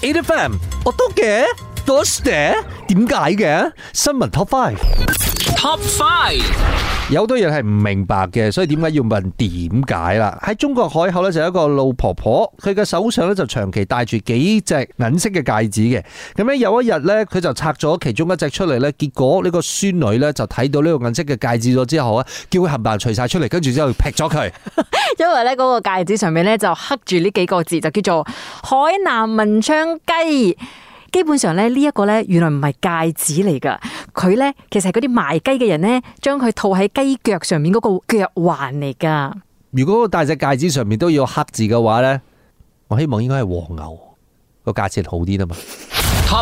8FM， 我都嘅，多謝，點解嘅？新聞 Top 5。Top 5有好多人係唔明白嘅，所以點解要問點解啦？喺中國海口咧就有一個老婆婆，佢嘅手上咧就長期戴住幾隻銀色嘅戒指嘅。咁咧有一日咧，佢就拆咗其中一隻出嚟咧，結果呢個孫女咧就睇到呢個銀色嘅戒指咗之後啊，叫佢冚唪唥除晒出嚟，跟住之後劈咗佢。 因為咧嗰個戒指上面咧就刻住呢幾個字，就叫做海南文昌雞。基本上咧呢一個咧原來唔係戒指嚟噶，佢咧其實係嗰啲賣雞嘅人咧將佢套喺雞腳上面嗰個腳環嚟噶。 如果戴隻戒指上面都要刻字嘅話咧，我希望應該係黃牛，個價錢好啲啊嘛。Top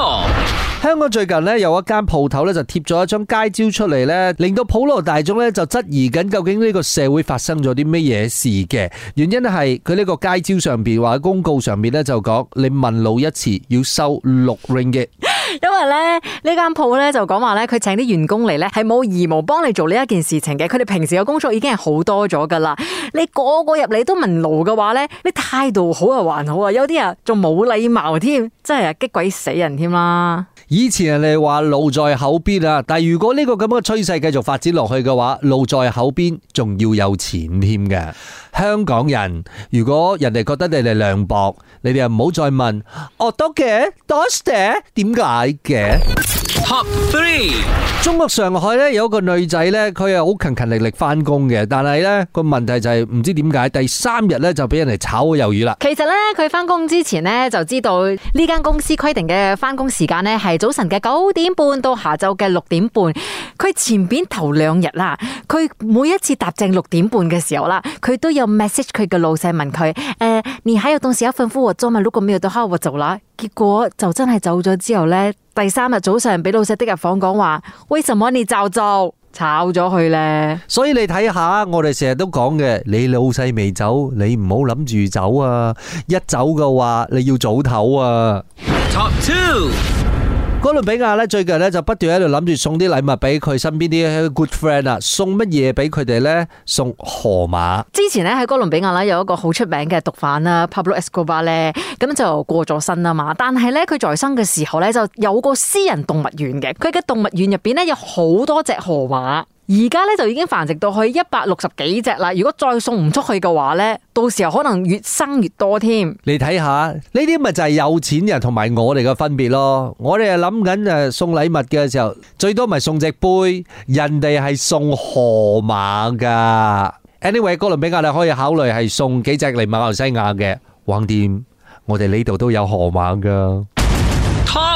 4，香港最近咧有一間鋪頭咧就貼咗一張街招出嚟咧，令到普羅大眾咧就質疑緊究竟呢個社會發生咗啲咩嘢事嘅。原因係佢呢個街招上邊或者公告上面咧就講，你問路一次要收6 ringgit。 因為咧呢間鋪咧就講話咧，佢請啲員工嚟咧係冇義務幫你做呢一件事情嘅。佢哋平時嘅工作已經係好多咗噶啦。你個個入嚟都問路嘅話咧，你態度好啊還好啊，有啲人仲冇禮貌添，真係激鬼死人添啦。 以前人哋話路在口邊啊，但係如果呢個咁嘅趨勢繼續發展落去嘅話，路在口邊仲要有錢添嘅。香港人如果人哋覺得你哋涼薄，你哋又唔好再問，我多嘅多謝點解嘅。Top 3，中國上海咧有一個女仔咧，佢係好勤勤力力翻工嘅，但係咧個問題就係唔知點解第3日咧就俾人哋炒魷魚啦。 其實咧佢翻工之前咧就知道呢間公司規定嘅翻工時間咧係早晨嘅9點半到下晝嘅6點半。佢前邊頭2日啦，佢每一次踏正6點半嘅時候啦，佢都有 message 佢嘅老細問佢，你還有東西要吩咐我做嗎？如果沒有的話我走啦。結果就真係走咗之後咧，第3日早上俾老細的入房講話，為什麼你早走？炒咗佢咧。所以你睇下，我哋成日都講嘅，你老細未走，你唔好諗住走啊！一走嘅話，你要早唞啊。Top 2。哥倫比亞咧最近咧就不斷喺度諗住送啲禮物俾佢身邊啲 good friend 啊，送乜嘢俾佢哋咧？送河馬。 之前咧喺哥倫比亞咧有一個好出名嘅毒販啦 Pablo Escobar 咧，咁就過咗身啊嘛。但係咧佢在生嘅時候咧就有個私人動物園嘅，佢嘅動物園入邊咧有好多隻河馬。而家咧就已經繁殖到去160幾隻啦。如果再送唔出去嘅話咧，到時候可能越生越多添。 你睇下呢啲咪就係有錢人同埋我哋嘅分別咯。我哋係諗緊送禮物嘅時候，最多咪送隻杯，人哋係送河馬噶。Anyway， 哥倫比亞你可以考慮係送幾隻嚟馬來西亞嘅，橫掂我哋呢度都有河馬噶。Top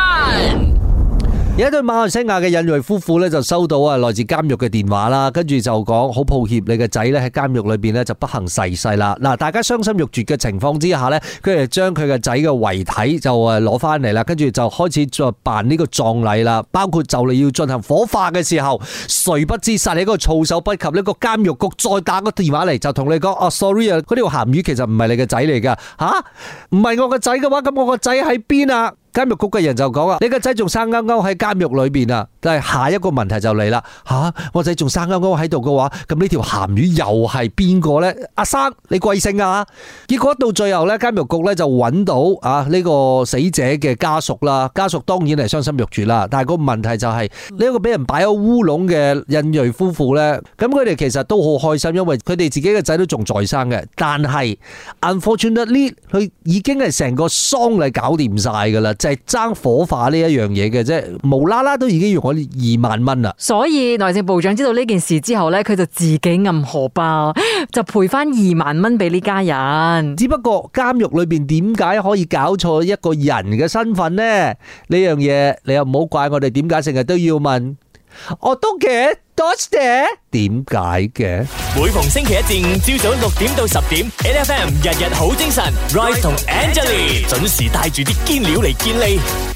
1。有一對馬來西亞嘅印裔夫婦咧，就收到來自監獄嘅電話啦，跟住就講好抱歉，你嘅仔咧喺監獄裏邊咧就不幸逝世啦。嗱，大家傷心欲絕嘅情況之下咧，佢哋將佢嘅仔嘅遺體就攞翻嚟啦，跟住就開始再辦呢個葬禮啦，包括就嚟要進行火化嘅時候，誰不知殺你嗰個措手不及，呢個監獄局再打個電話嚟就同你講，sorry 啊，嗰條鹹魚其實唔係你嘅仔嚟噶，唔係我嘅仔嘅話，咁我個仔喺邊啊？監獄局嘅人就講啊，你個仔仲生勾勾喺監獄裏邊啊！但係下一個問題就嚟啦，我仔仲生勾勾喺度嘅話，咁呢條鹹魚又係邊個呢？阿生，你貴姓啊？結果到最後呢，監獄局呢就揾到呢個死者嘅家屬啦，家屬當然係傷心欲絕啦。但係個問題就係呢一個俾人擺咗烏龍嘅印裔夫婦呢，咁佢哋其實都好開心，因為佢哋自己嘅仔都仲在生嘅。但係 unfortunately 佢已經係成個喪禮搞掂晒噶啦。就係爭火化呢一樣嘢嘅啫，無啦啦都已經用咗2萬蚊啦。所以內政部長知道呢件事之後呢，佢就自己揞荷包，就賠翻2萬蚊俾呢家人。只不過監獄裏邊點解可以搞錯一個人嘅身份呢？呢樣嘢你又唔好怪我哋，點解成日都要問？我都嘅，多謝。點解嘅？每逢星期一至5朝早6點到10點 ，8FM 日日好精神 ，Rise 同 Angelie 準時帶住啲堅料嚟見你。